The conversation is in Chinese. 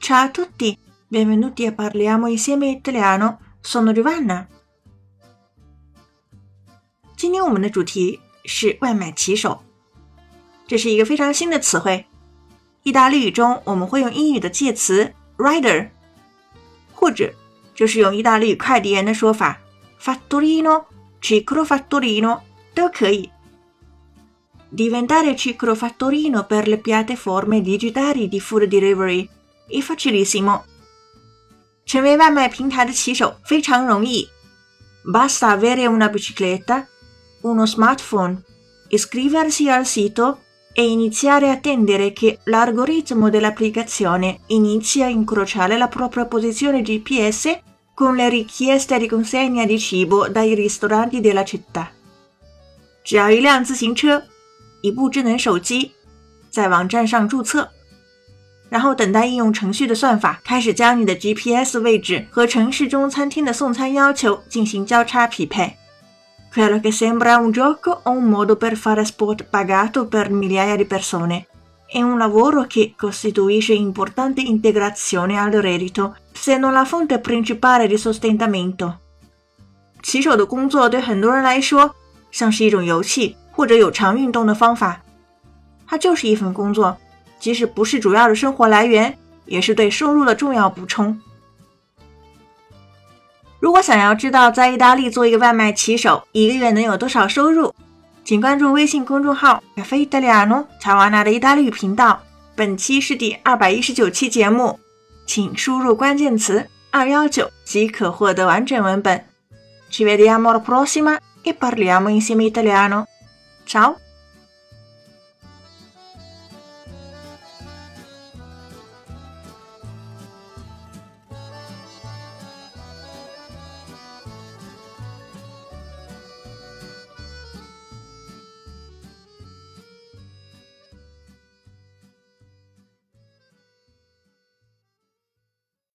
Ciao a tutti, benvenuti a Parliamo Insieme Italiano, sono Giovanna。今天我们的主题是外卖骑手，这是一个非常新的词汇。意大利语中我们会用英语的介词 rider， 或者就是用意大利语快递员的说法 fattorino、ciclofattorino 都可以。Diventare ciclofattorino per le piattaforme digitali di food delivery è facilissimo。 成为外卖平台的骑手非常容易。Basta avere una bicicletta, uno smartphone, iscriversi al sito e iniziare a attendere che l'algoritmo dell'applicazione inizi a incrociare la propria posizione GPS con le richieste di consegna di cibo dai ristoranti della città。 只要一辆自行车，一部智能手机，在网站上注册，然后等待应用程序的算法开始将你的 GPS 位置和城市中餐厅的送餐要求进行交叉匹配。Quello che sembra un gioco o un modo per fare sport pagato per migliaia di persone è un lavoro che costituisce importante integrazione al reddito, se non la fonte principale di sostentamento。 骑手的工作对很多人来说像是一种游戏或者有偿运动的方法，它就是一份工作，即使不是主要的生活来源，也是对收入的重要补充。如果想要知道在意大利做一个外卖骑手一个月能有多少收入，请关注微信公众号 Caffè Italiano 乔瓦纳的意大利语频道。本期是第219期节目，请输入关键词219即可获得完整文本。Ci vediamo alla prossima e parliamo insieme italiano. Ciao!